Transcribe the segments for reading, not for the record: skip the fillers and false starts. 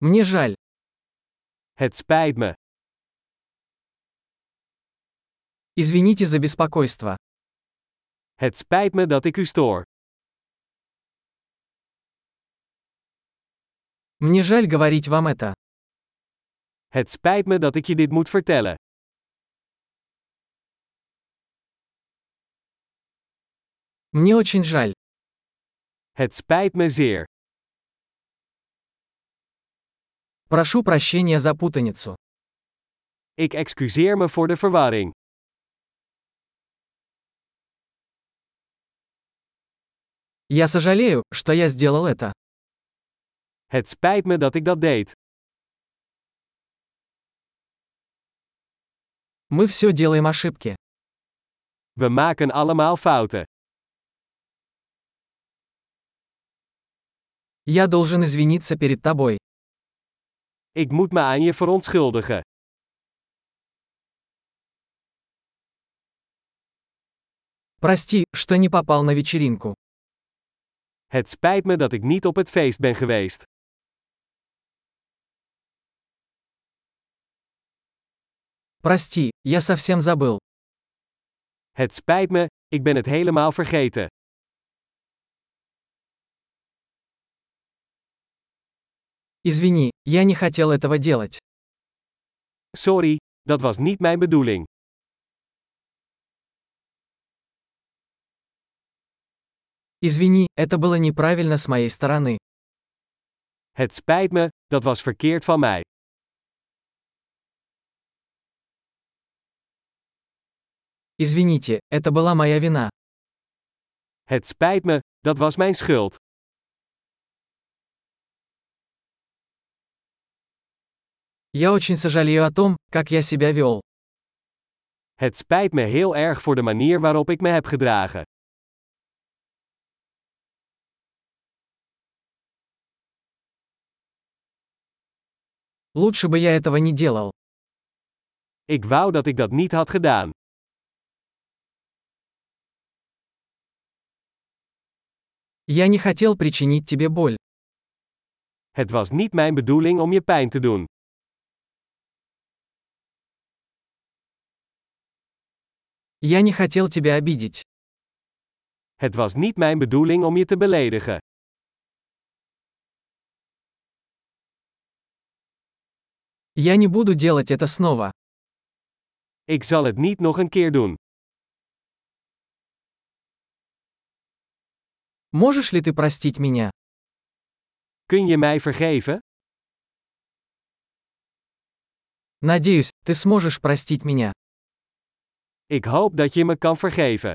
Мне жаль. Het spijt me. Извините за беспокойство. Het spijt me dat ik u stoor. Мне жаль говорить вам это. Het spijt me dat ik je dit moet vertellen. Мне очень жаль. Het spijt me zeer. Прошу прощения за путаницу. Ik excuseer me voor de verwarring. Я сожалею, что я сделал это. Het spijt me dat ik dat deed. Мы все делаем ошибки. We maken allemaal fouten. Я должен извиниться перед тобой. Ik moet me aan je verontschuldigen. Прости, что не попал на вечеринку. Het spijt me dat ik niet op het feest ben geweest. Прости, я совсем забыл. Het spijt me, ik ben het helemaal vergeten. Извини, я не хотел этого делать. Sorry, dat was niet mijn bedoeling. Извини, это было неправильно с моей стороны. Het spijt me, dat was verkeerd van mij. Извините, это была моя вина. Het spijt me, dat was mijn schuld. Я очень сожалею о том, как я себя вел. Het spijt me heel erg voor de manier waarop ik me heb gedragen. Лучше бы я этого не делал. Ik wou dat ik dat niet had gedaan. Я не хотел причинить тебе боль. Het was niet mijn bedoeling om je pijn te doen. Я не хотел тебя обидеть. Het was niet mijn bedoeling om je te beledigen. Я не буду делать это снова. Ik zal het niet nog een keer doen. Можешь ли ты простить меня? Kun je mij vergeven? Надеюсь, ты сможешь простить меня. Ik hoop dat je me kan vergeven.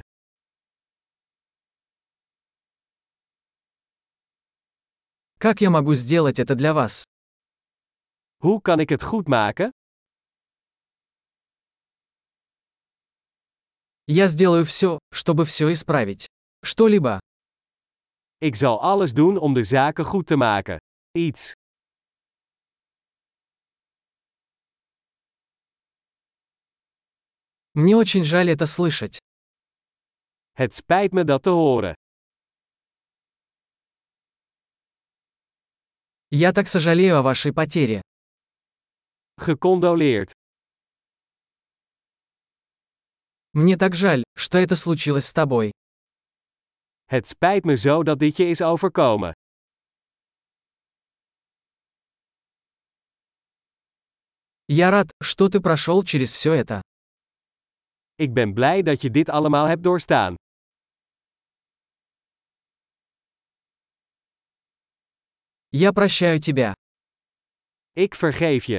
Как я могу сделать это для вас? Hoe kan ik het goed maken? Я сделаю все, чтобы все исправить. Что-либо. Ik zal alles doen om de zaken goed te maken. Iets. Мне очень жаль это слышать. Het spijt me dat te horen. Я так сожалею о вашей потере. Gecondoleerd. Мне так жаль, что это случилось с тобой. Het spijt me zo dat dit je is overkomen. Я рад, что ты прошел через все это. Ik ben blij dat je dit allemaal hebt doorstaan. Я прощаю тебя. Ik vergeef je.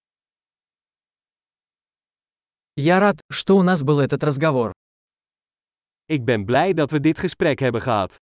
Я рад, что у нас был этот разговор. Ik ben blij dat we dit gesprek hebben gehad.